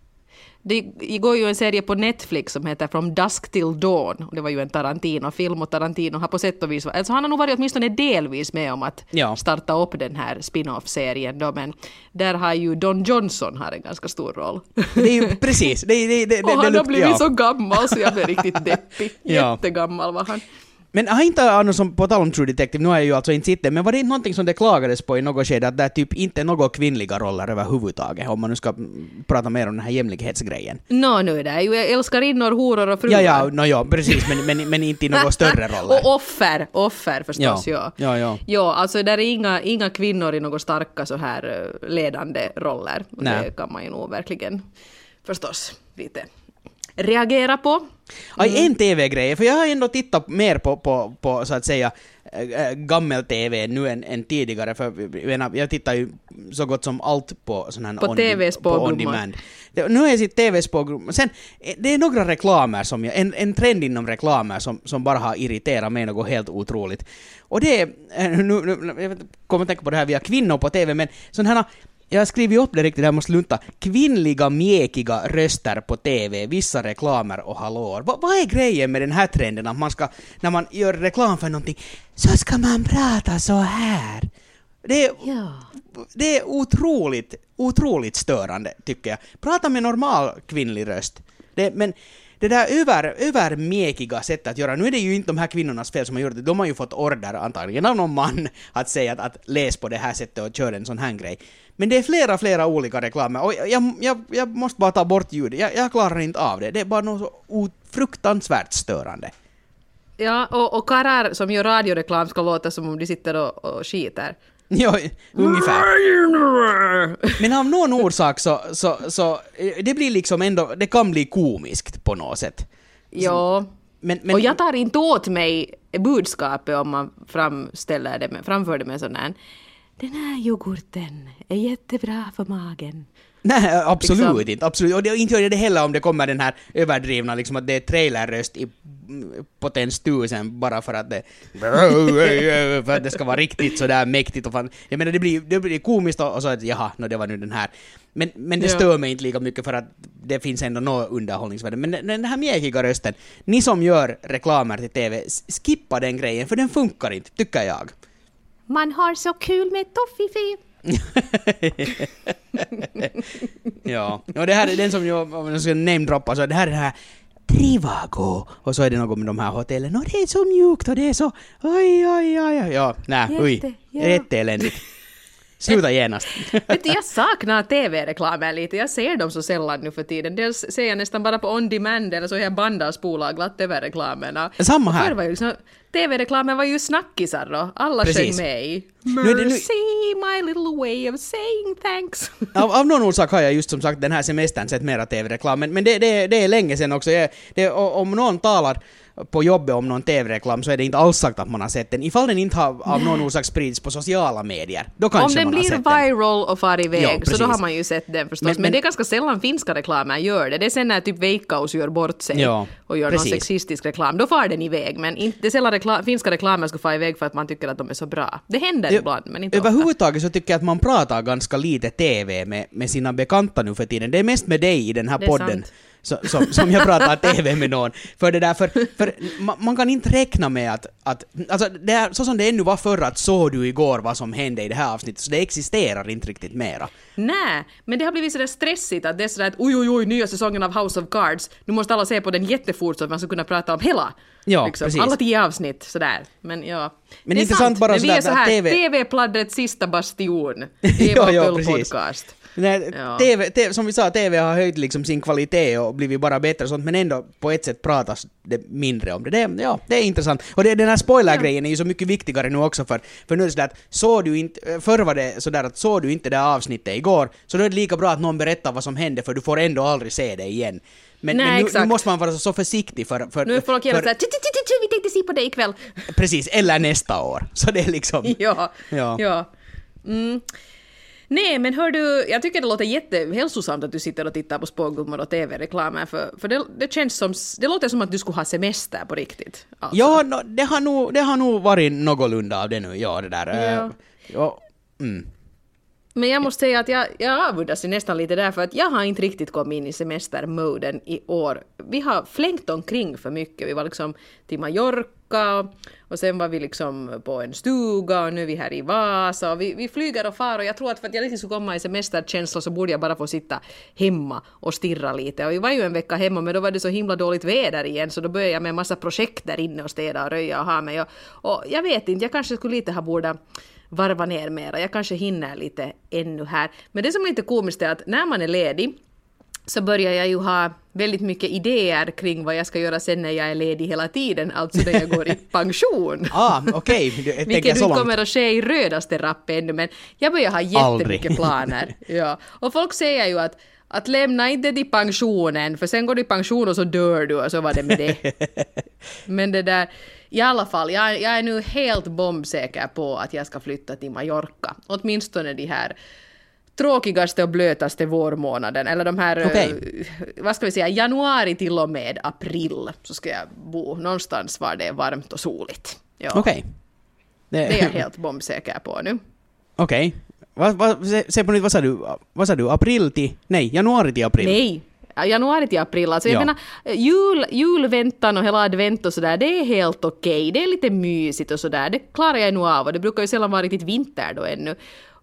Det går ju en serie på Netflix som heter From Dusk Till Dawn. Det var ju en Tarantino-film och Tarantino har på sätt och vis... Alltså han har nog varit åtminstone delvis med om att starta upp den här spin-off-serien då, men där har ju Don Johnson har en ganska stor roll. Det är ju precis. Och han har blivit så gammal så jag blev riktigt deppig. Jättegammal var han. Men har inte Arno, som på tal om True Detective, nu har jag ju alltså inte sett, men var det inte någonting som det klagades på i något skede att det är typ inte några kvinnliga roller överhuvudtaget, om man nu ska prata mer om den här jämlikhetsgrejen? Nu det är ju älskarinnor, horor och fruar. Ja, precis, men inte i några större roller. Och offer förstås, ja. Ja, alltså där är inga kvinnor i några starka så här ledande roller. Det kan man ju nog verkligen förstås lite reagera på. En tv-grej, för jag har ändå tittat mer på så att säga gammel-tv nu än tidigare, för jag tittar ju så gott som allt på sån här on demand. Nu har jag sitt tv-spågrum. Sen, det är några reklamer som en trend inom reklamer som bara har irriterat mig något helt otroligt. Och det är, jag kommer att tänka på det här via kvinnor på tv, men sån här, jag har skrivit upp det riktigt, jag måste lunta. Kvinnliga, mjäkiga röster på tv, vissa reklamer och hallåor. Vad är grejen med den här trenden att man ska, när man gör reklam för någonting, så ska man prata så här? Det är otroligt störande, tycker jag. Prata med normal kvinnlig röst. Men det där övermjäkiga sättet att göra, nu är det ju inte de här kvinnornas fel som har gjort det, de har ju fått order antagligen av någon man att säga att läs på det här sättet och kör en sån här grej. Men det är flera olika reklamer och jag måste bara ta bort ljudet, jag klarar inte av det, det är bara något så fruktansvärt störande. Ja, och karrar som gör radioreklam ska låta som om de sitter och skiter. Ja, ungefär. Men av någon orsak så det blir liksom ändå, det kan bli komiskt på något sätt. Ja, men och jag tar inte åt mig budskapet om man framför det med sån här: den här yoghurten är jättebra för magen. Nej, absolut liksom. Inte. Absolut. Och inte gör det heller om det kommer den här överdrivna, liksom att det är trailerröst i potens 1000 bara för att det ska vara riktigt sådär mäktigt. Och fan. Jag menar, det blir komiskt och så att jaha, det var nu den här. Men det stör mig inte lika mycket för att det finns ändå något underhållningsvärde. Men den här mjäkiga rösten, ni som gör reklamer till tv, skippa den grejen, för den funkar inte, tycker jag. Man har så kul med toffifee. Ja, och det här är den som jag ska namedroppa, så det här är det här Trivago, och så är det något med de här hotellen, och det är så mjukt och det är så jätteeländigt. Sluta genast. Vet du, jag saknar tv-reklamer lite. Jag ser dem så sällan nu för tiden. Dels ser jag nästan bara på on demand eller så är jag bandar spolar glatt över reklamerna. Samma här. Var ju liksom, tv-reklamen var ju snackisar då. Alla sjöng med i Mercy, my little way of saying thanks. Av någon orsak har jag just som sagt den här semestern sett mera tv-reklam. Men det är länge sedan också. Om någon talar på jobbet om någon tv-reklam så är det inte alls sagt att man har sett den. Ifall den inte har av någon orsak sprids på sociala medier, då kanske man har sett den. Om den blir viral och far iväg, så då har man ju sett den förstås. Men det är ganska sällan finska reklamer gör det. Det är sen när typ Veikkaus gör bort sig och gör någon sexistisk reklam. Då far den iväg. Men det är sällan finska reklamer ska få iväg för att man tycker att de är så bra. Det händer ibland, men inte överhuvudtaget så tycker jag att man pratar ganska lite tv med sina bekanta nu för tiden. Det är mest med dig i den här podden. Som jag pratar tv med någon. För det där, för man kan inte räkna med att alltså det är, så som det ännu var förr att såg du igår vad som hände i det här avsnittet, så det existerar inte riktigt mera. Nej, men det har blivit sådär stressigt att det är sådär att oj, nya säsongen av House of Cards, nu måste alla se på den jättefort så att man ska kunna prata om hela. Ja, liksom. precis. Alla 10 avsnitt, sådär. Men ja, men det är intressant bara men vi är så här, TV... TV-pladdrets sista bastion. Det är podcast. TV, som vi sa, TV har höjt liksom sin kvalitet och blivit bara bättre och sånt, men ändå på ett sätt pratas det mindre om det. Det är intressant. Och den här spoilergrejen är ju så mycket viktigare nu också, för nu är det sådär att förr var det sådär att såg du inte det avsnittet igår, så då är det lika bra att någon berättar vad som hände, för du får ändå aldrig se det igen. Men nu måste man vara så försiktig för nu är folk gärna såhär, vi tänkte se på det ikväll. Precis, eller nästa år. Så det är liksom... Ja. Nej, men hör du, jag tycker det låter jättehälsosamt att du sitter och tittar på spågummor och tv-reklamer, för det känns som, det låter som att du skulle ha semester på riktigt. Alltså. Ja, det har nog varit någorlunda av det nu, det där. Men jag måste säga att jag avundas nästan lite därför att jag har inte riktigt kommit in i semestermoden i år. Vi har flängt omkring för mycket. Vi var liksom till Mallorca och sen var vi liksom på en stuga och nu är vi här i Vasa och vi flyger och far och jag tror att för att jag riktigt skulle komma i semesterkänsla så borde jag bara få sitta hemma och stirra lite. Och vi var ju en vecka hemma men då var det så himla dåligt väder igen så då började jag med en massa projekt där inne och städa och röja och ha mig. Och jag vet inte, jag kanske skulle lite ha borde varva ner mera. Jag kanske hinner lite ännu här. Men det som är lite komiskt är att när man är ledig så börjar jag ju ha väldigt mycket idéer kring vad jag ska göra sen när jag är ledig hela tiden. Alltså när jag går i pension. Okej. Vilket inte kommer att ske i rödaste rapp ännu. Men jag börjar ha jättemycket planer. Ja. Och folk säger ju att lämna inte till pensionen. För sen går du i pension och så dör du och så var det med det. Men det där... I alla fall, jag är nu helt bombsäker på att jag ska flytta till Mallorca. Åtminstone de här tråkigaste och blötaste vårmånaden. Eller de här, vad ska vi säga, januari till och med april. Så ska jag bo någonstans var det är varmt och soligt. Ja. Okej. Det är jag helt bombsäker på nu. Okej. Se på nytt, vad sa du? Januari till april? Nej. Januari till april. Alltså jag menar, julväntan och hela advent och sådär, det är helt okej. Det är lite mysigt och sådär. Det klarar jag nog av och det brukar ju sällan vara riktigt vinter då ännu.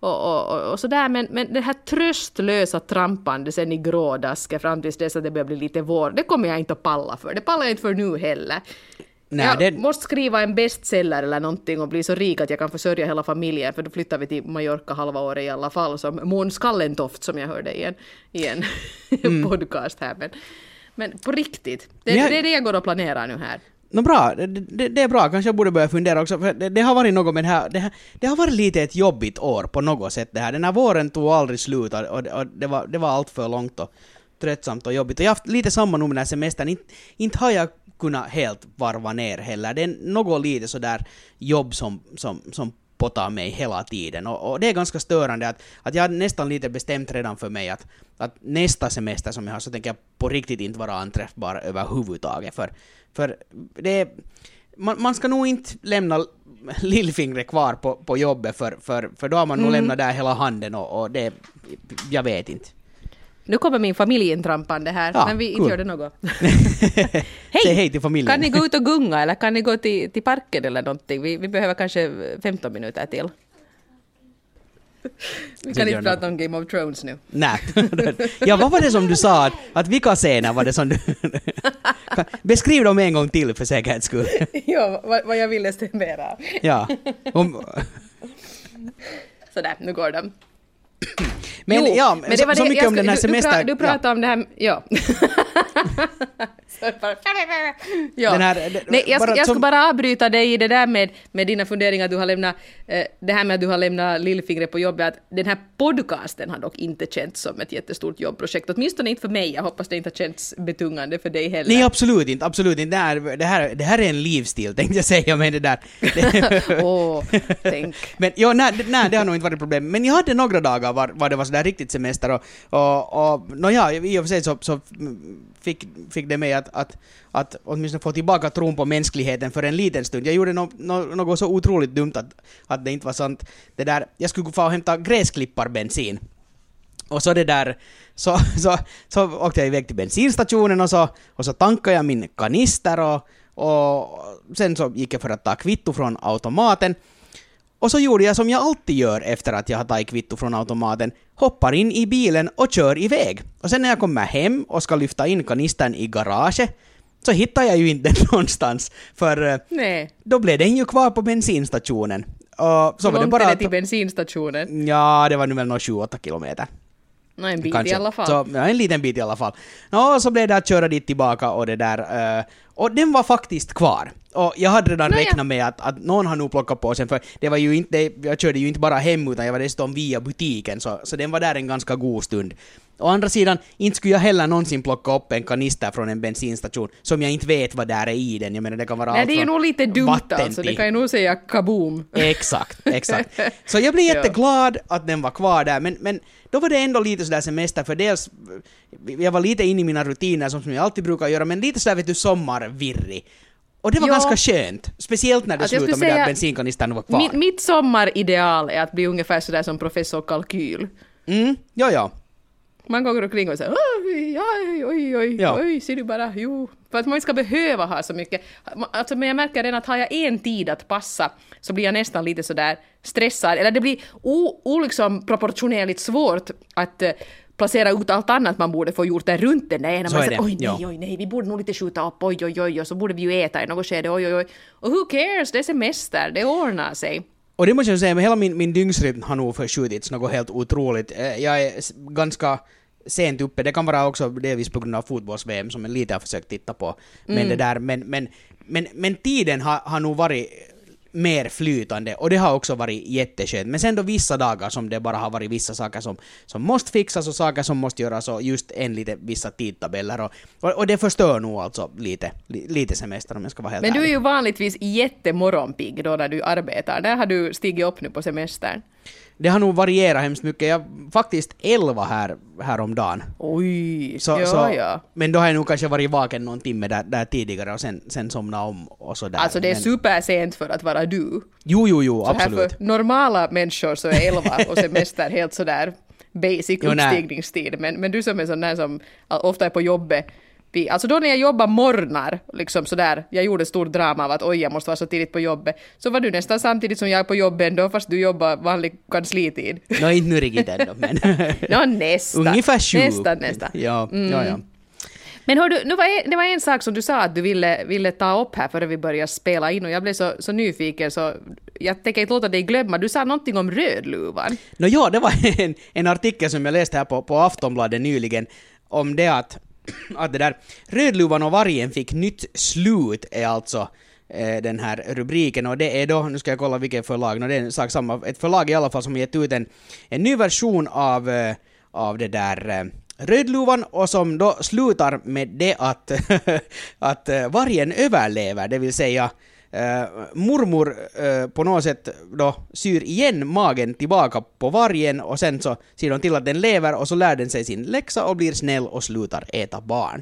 Och sådär, men det här tröstlösa trampande sen i grådaska fram tills dess att det börjar bli lite vår, det kommer jag inte att palla för. Det pallar jag inte för nu heller. Nej, jag måste skriva en bestseller eller någonting och bli så rik att jag kan försörja hela familjen, för då flyttar vi till Mallorca halva året i alla fall, som Måns Kallentoft som jag hörde i en podcast här. Men på riktigt, det är det jag går och planerar nu här. Bra, det är bra. Kanske jag borde börja fundera också. För det har varit något med det har varit lite ett jobbigt år på något sätt det här. Den här våren tog aldrig slut och det var allt för långt och tröttsamt och jobbigt. Och jag har haft lite samma nu med den här semestern. Inte har jag kunnat helt varva ner heller. Det är något lite sådär jobb som potar mig hela tiden. Och det är ganska störande att jag nästan lite bestämt redan för mig att nästa semester som jag har så tänker jag på riktigt inte vara anträffbar överhuvudtaget. För det är, man ska nog inte lämna lillfingret kvar på jobbet för då har man nog lämnat där hela handen och det, jag vet inte. Nu kommer min familj intrampande här, men vi inte gör det något. Hej! Säg hej till familjen. Kan ni gå ut och gunga eller kan ni gå till parken eller någonting? Vi behöver kanske 15 minuter till. Vi kan inte prata om Game of Thrones nu. Nej. Ja, vad var det som du sa? Att vilka scener var det som du... Beskriv dem en gång till för säkerhets skull. Ja, vad jag ville stämma. Ja. Sådär, nu går de. Men det var så mycket om den här semestern. Du pratade om det här, ja. Jag ska bara avbryta dig i det där med dina funderingar att du har lämnat det här med att du har lämnat lillfingret på jobbet, att den här podcasten har dock inte känts som ett jättestort jobbprojekt, åtminstone inte för mig. Jag hoppas det inte har känts betungande för dig heller. Nej, absolut inte. Det här är en livsstil, tänkte jag säga med det där. Tänk. Men nej, det har nog inte varit problem. Men jag hade några dagar var det var sådär riktigt semester och i och för sig så fick det mig att åtminstone få tillbaka tron på mänskligheten för en liten stund. Jag gjorde något så otroligt dumt att det inte var sant. Det där, jag skulle få hämta gräsklipparbensin. Och så det där så åkte jag iväg till bensinstationen och så tankade jag min kanister och sen så gick jag för att ta kvitto från automaten. Och så gjorde jag som jag alltid gör efter att jag har tagit kvitto från automaten. Hoppar in i bilen och kör iväg. Och sen när jag kommer hem och ska lyfta in kanistern i garaget så hittar jag ju inte den någonstans. För då blev den ju kvar på bensinstationen. Och så var det bara det till bensinstationen? Ja, det var nu väl några 7-8 kilometer. En bit kanske. i alla fall. Så, ja, en liten bit i alla fall. Så blev det att köra dit tillbaka och det där. Och den var faktiskt kvar. Och jag hade redan räknat med att någon har nog plockat på sen, för det var ju inte, jag körde ju inte bara hem utan jag var dessutom via butiken, så den var där en ganska god stund. Å andra sidan, inte skulle jag heller någonsin plocka upp en kanister från en bensinstation som jag inte vet vad där är i den. Jag menar, det kan vara det är ju nog lite dumt alltså, det kan ju nog säga kaboom. Exakt. Så jag blev jätteglad att den var kvar där, men då var det ändå lite sådär semester, för dels, jag var lite inne i mina rutiner som jag alltid brukar göra, men lite sådär vet du, sommarvirrig. Och det var ganska skönt, speciellt när det slutade med att bensinkanistern var kvar. Mitt sommarideal är att bli ungefär sådär som professor Kalkyl. Ja. Man går omkring och säger oj, ser du bara, jo. För att man inte ska behöva ha så mycket. Alltså, men jag märker redan att har jag en tid att passa så blir jag nästan lite sådär stressad. Eller det blir liksom proportionerligt svårt att placera ut allt annat man borde få gjort där runt den där ena. Man säger, oj nej, vi borde nog lite skjuta upp, oj, och så borde vi ju äta i något skede, oj. Och who cares, det är semester, det ordnar sig. Och det måste jag säga, men hela min dygnsrytm har nog förskjutits något helt otroligt. Jag är ganska sent uppe, det kan vara också delvis på grund av fotbolls-VM som jag lite har försökt titta på. Men det där, men tiden har nog varit mer flytande, och det har också varit jätteskönt. Men sen då vissa dagar som det bara har varit vissa saker som måste fixas och saker som måste göras, och just vissa tidtabeller och det förstör nog alltså lite semester, om jag ska vara helt ärlig. Men du är ju vanligtvis jättemorgonpigg då när du arbetar. Där har du stigit upp nu på semestern. Det har nog varierat hemskt mycket. Jag faktiskt 11 här om dagen. Oj, ja. Men då har jag nog kanske varit vaken någon timme där tidigare och sen somna om och sådär. Alltså det är supersent för att vara du. Jo, så absolut. Här för normala människor så är 11 och semester helt sådär basic uppstigningstid. Men du som är sån där som ofta är på jobbet. Alltså då när jag jobbar morgnar, liksom sådär, jag gjorde stor drama av att jag måste vara så tidigt på jobbet, så var du nästan samtidigt som jag är på jobbet ändå, fast du jobbar vanlig kanslitid. Inte nu riktigt ändå, men... nästan. Ungefär 7. Nästan. Ja. Men hördu, det var en sak som du sa att du ville ta upp här före vi började spela in, och jag blev så nyfiken så jag tänker inte låta dig glömma. Du sa någonting om Rödluvan. Det var en artikel som jag läste här på Aftonbladet nyligen om det att det där Rödluvan och vargen fick nytt slut är alltså den här rubriken, och det är då, nu ska jag kolla vilket förlag, det är ett förlag i alla fall som gett ut en ny version av det där Rödluvan, och som då slutar med det att vargen överlever, det vill säga mormor på något sätt då syr igen magen tillbaka på vargen, och sen så ser de till att den lever, och så lär den sig sin läxa och blir snäll och slutar äta barn.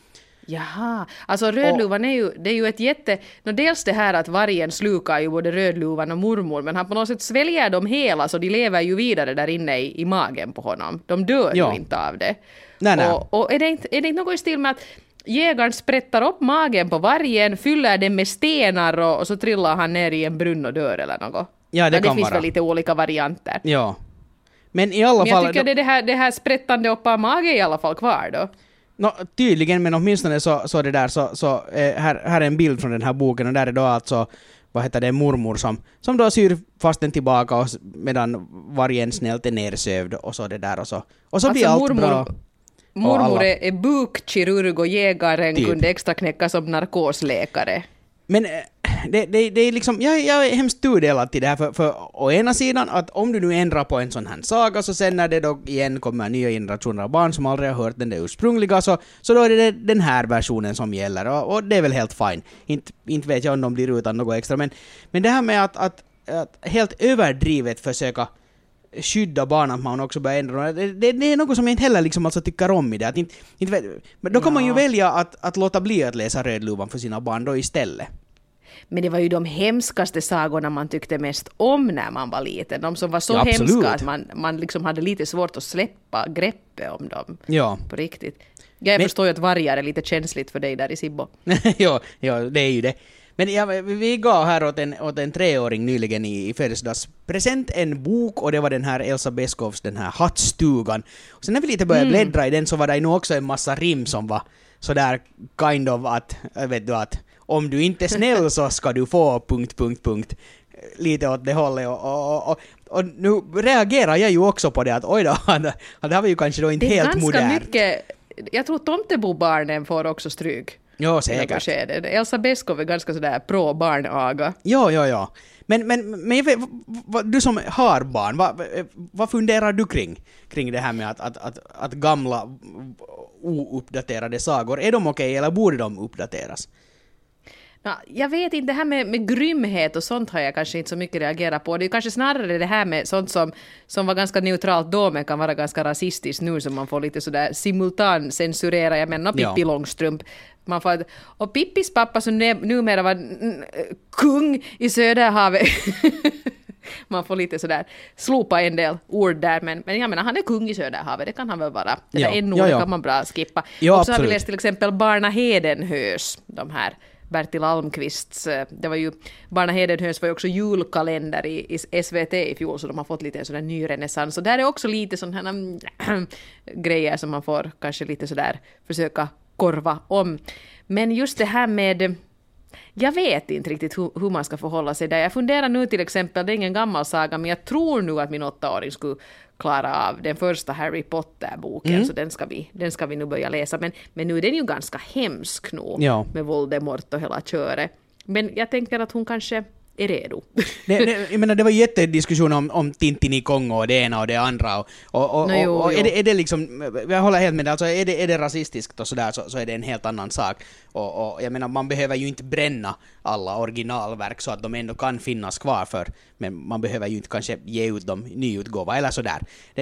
Jaha, alltså Rödluvan det är ju ett dels det här att vargen slukar ju både Rödluvan och mormor, men han på något sätt sväljer dem hela, så de lever ju vidare där inne i magen på honom. De dör ju inte av det. Nej. Och är det inte något i stil med att jägaren sprättar upp magen på vargen, fyller den med stenar och så trillar han ner i en brunn och dör eller något? Ja, det finns väl lite olika varianter. Ja. Men i alla fall... jag tycker det här sprättande upp av magen i alla fall kvar då. Tydligen, men åtminstone så det där så här är en bild från den här boken, och där är då alltså mormor som då syr fast den tillbaka, och medan vargen snällt är nersövd och så det där och så alltså blir allt bra. Mormor är bukkirurg och jägaren kunde extra knäcka som narkosläkare. Men det är liksom, jag är hemskt tudelad till det här, för å ena sidan att om du nu ändrar på en sån här saga, så sen när det då igen kommer nya generationer av barn som aldrig har hört den där ursprungliga, så då är det den här versionen som gäller, och det är väl helt fine. Inte vet jag om de blir utan något extra, men det här med att helt överdrivet försöka skydda barn, att man också börjar ändra. Det är något som jag inte heller liksom alltså tycker om i det. Att men då kan man ju välja att låta bli att läsa Rödluvan för sina barn då istället. Men det var ju de hemskaste sagorna man tyckte mest om när man var liten. De som var så hemska att man liksom hade lite svårt att släppa greppet om dem. Ja. På riktigt. Jag förstår ju att vargar är lite känsligt för dig där i Sibbo. ja, det är ju det. Men vi gav här åt en 3-åring nyligen i födelsedagspresent en bok, och det var den här Elsa Beskows, den här Hattstugan. Och sen när vi lite började bläddra i den, så var det nog också en massa rim som var sådär kind of att, vet du, att om du inte är snäll så ska du få ... lite åt det hållet och nu reagerar jag ju också på det att oj då, det här var ju kanske då inte helt modernt. Det är ganska mycket, jag tror Tomtebobarnen får också stryk. Ja, säkert. Elsa Beskow är ganska sådär pro-barnaga. Ja. Men du som har barn, vad funderar du kring det här med att gamla ouppdaterade sagor, är de okej eller borde de uppdateras? Jag vet inte, det här med grymhet och sånt har jag kanske inte så mycket reagerat på. Det är kanske snarare det här med sånt som var ganska neutralt då men kan vara ganska rasistiskt nu som man får lite sådär simultan censurera. Jag menar Pippi Långstrump. Man får, och Pippis pappa som numera var kung i Söderhavet. Man får lite sådär slopa en del ord där, men jag menar han är kung i Söderhavet, det kan han väl vara. Det där en ord kan man bra skippa. Ja, och så har vi läst till exempel Barna Hedenhös, de här Bertil Almqvists, det var ju Barna Hedenhös var ju också julkalender i SVT i fjol, så de har fått lite sådär ny renässans. Och där är också lite sådana grejer som man får kanske lite sådär försöka korva om. Men just det här med, jag vet inte riktigt hur man ska förhålla sig där. Jag funderar nu till exempel, det är ingen gammal saga, men jag tror nu att min 8-åring skulle klara av den första Harry Potter-boken, så den ska vi nu börja läsa. Men nu är den ju ganska hemsk nog med Voldemort och hela köret. Men jag tänker att hon kanske är redo. Jag menar, det var ju jättediskussion om Tintin i Kongo och det ena och det andra. Och är det liksom, jag håller helt med det, alltså är det rasistiskt och sådär så är det en helt annan sak. Och jag menar, man behöver ju inte bränna alla originalverk så att de ändå kan finnas kvar för, men man behöver ju inte kanske ge ut dem nyutgåva eller sådär.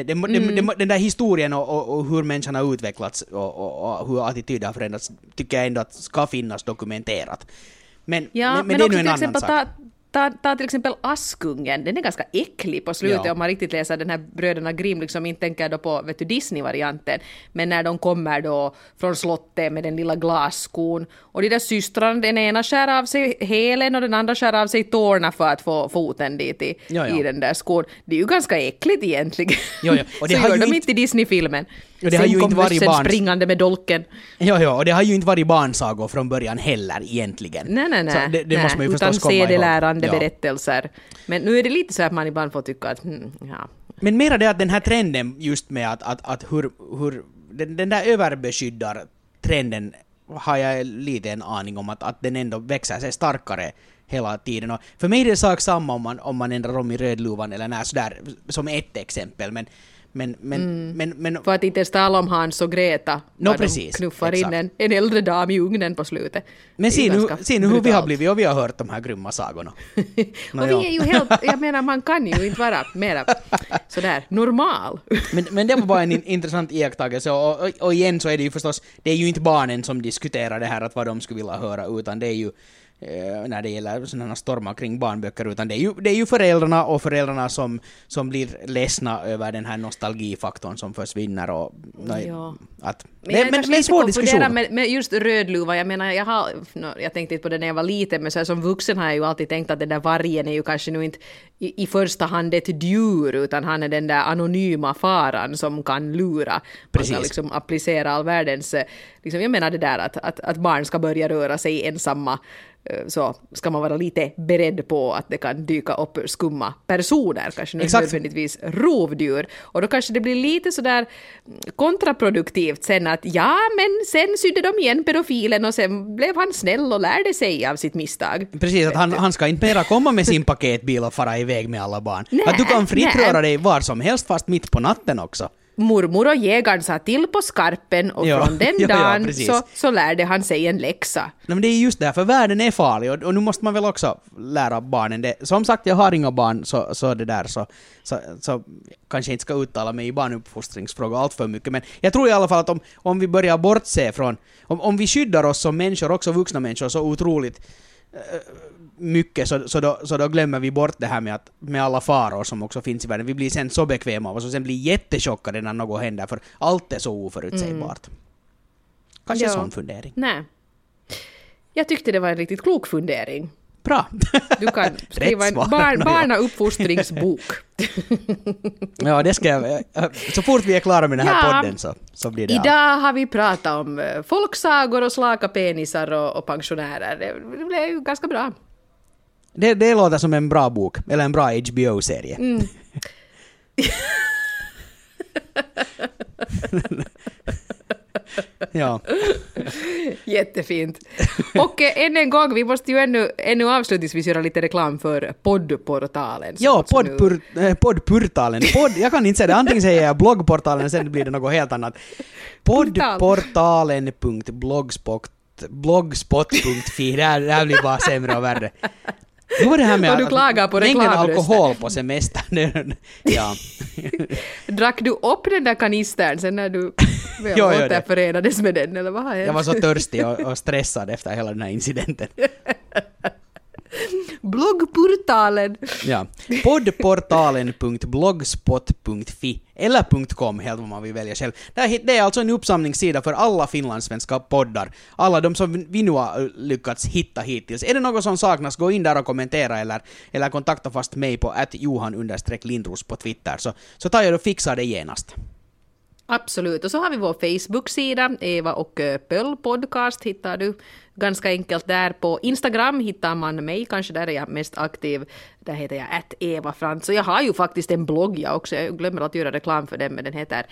Den där historien och hur människan har utvecklats och hur attityder har förändrats tycker jag ändå att ska finnas dokumenterat. Men det är nu en annan sak. Ta till exempel Askungen, den är ganska äcklig på slutet om man riktigt läser den här Bröderna Grimm, liksom inte tänker då på Disney-varianten, men när de kommer då från slottet med den lilla glasskon och de där systrarna, den ena skär av sig hälen och den andra skär av sig tårna för att få foten dit i den där skon. Det är ju ganska äckligt egentligen. Och det så gör de inte i Disney-filmen. Och det har ju inte varit springande med dolken. Och det har ju inte varit barnsagor från början heller egentligen. Nej. Så det måste man ju förstås komma ihåg. Berättelser. Men nu är det lite så att man ibland får tycka att Men mera det att den här trenden just med att hur den där överbeskyddar trenden har jag lite en aning om att den ändå växer sig starkare hela tiden. Och för mig är det sak samma om man ändrar om i Rödluvan eller när sådär som ett exempel, men för att inte tala om Hans och Greta. Precis, knuffar exakt. in en äldre dam i ugnen på slutet. Men se nu hur vi har blivit och vi har hört de här grymma sagorna. Och vi är ju helt, jag menar man kan ju inte vara mera sådär normal. Men det var bara en intressant iakttagelse och igen så är det ju förstås, det är ju inte barnen som diskuterar det här att vad de skulle vilja höra, utan det är ju när det gäller sådana stormar kring barnböcker, utan det är ju föräldrarna som blir ledsna över den här nostalgifaktorn som försvinner och det är en svår diskussion. Med just Rödluva, jag menar jag tänkte inte på det när jag var liten, men så här, som vuxen har jag ju alltid tänkt att den där vargen är ju kanske nu inte i första hand ett djur, utan han är den där anonyma faran som kan lura. Man kan liksom applicera all världens liksom, jag menar det där att barn ska börja röra sig ensamma, så ska man vara lite beredd på att det kan dyka upp skumma personer, kanske inte nödvändigtvis rovdjur. Och då kanske det blir lite sådär kontraproduktivt sen att men sen sydde de igen pedofilen och sen blev han snäll och lärde sig av sitt misstag. Precis, att han ska inte mera komma med sin paketbil och fara iväg med alla barn. Att du kan fritt röra dig var som helst, fast mitt på natten också. Mormor och jägaren sa till på skarpen och från den dagen så lärde han sig en läxa. Men det är just därför världen är farlig och nu måste man väl också lära barnen det. Som sagt, jag har inga barn så det där så kanske inte ska uttala mig i barnuppfostringsfrågor allt för mycket, men jag tror i alla fall att om vi börjar bortse från om vi skyddar oss som människor, också vuxna människor, så otroligt mycket så då glömmer vi bort det här med alla faror som också finns i världen. Vi blir sen så bekväma av oss och sen blir jättechockade när något händer, för allt är så oförutsägbart. Kanske en sån fundering. Nej. Jag tyckte det var en riktigt klok fundering. Bra. Du kan skriva en barnauppfostringsbok. Ja, det ska jag. Så fort vi är klara med den här podden så blir det. Idag har vi pratat om folksagor och slaka penisar och pensionärer. Det blev ju ganska bra. Det låter som en bra bok, eller en bra HBO-serie. Ja. Jättefint. Och än en gång, vi måste ju ännu avslutningsvis göra lite reklam för poddportalen. Ja, poddportalen. Jag kan inte säga det, antingen säger jag bloggportalen, sen blir det något helt annat. Poddportalen.blogspot.fi. Det här blir bara sämre och värre. Nu var det här med och du klagar på reklamrösten. Alkohol på semestern. Ja. Drack du upp den där kanistern sen när du återförenades med den? Eller vad har hänt? Jag var så törstig och stressad efter hela den här incidenten. Bloggportalen. Ja. Poddportalen.blogspot.fi eller .com, helt vad man vill välja själv. Det är alltså en uppsamlingssida för alla finlandssvenska poddar. Alla de som vi nu har lyckats hitta hittills. Är det något som saknas, gå in där och kommentera eller kontakta fast mig på @johan_lindros på Twitter. Så tar jag och fixar det genast. Absolut. Och så har vi vår Facebook-sida, Eva och Pöll podcast hittar du ganska enkelt där. På Instagram hittar man mig, kanske där är jag mest aktiv. Där heter jag @evafrans. Och jag har ju faktiskt en blogg jag också, jag glömmer att göra reklam för den, men den heter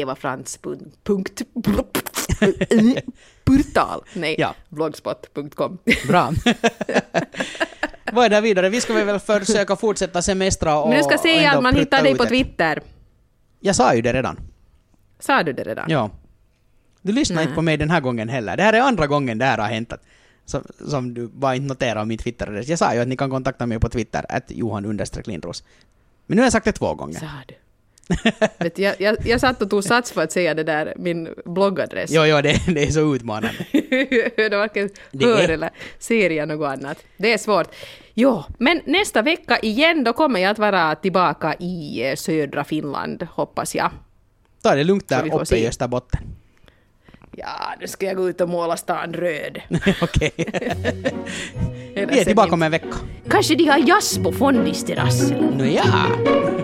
blogspot.com. Bra. Vad är det vidare? Vi ska väl försöka fortsätta semestra och... Men du ska säga att man hittar dig på Twitter. Jag sa ju det redan. Sa du det redan? Ja. Du lyssnar inte på mig den här gången heller. Det här är andra gången det här har hänt. Som du bara inte noterar min Twitter-adress. Jag sa ju att ni kan kontakta mig på Twitter @johan_lindros. Men nu har jag sagt det 2 gånger. Sa du? Vet, jag satt och tog sats för att säga det där, min bloggadress. Jo, det är så utmanande. Det varken hör eller ser något annat. Det är svårt. Jo, men nästa vecka igen, då kommer jag att vara tillbaka i södra Finland, hoppas jag. Ta det lugnt där uppe i Österbotten. Ja, nu ska jag gå ut och måla stan röd. Okej. Vi är tillbaka om en vecka. Kanske de har jazz på Fondisterrassen. Nå ja.